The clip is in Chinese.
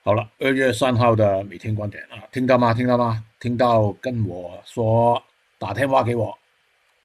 好了，2月3号的每天观点啊，听到吗？听到吗？听到跟我说，打电话给我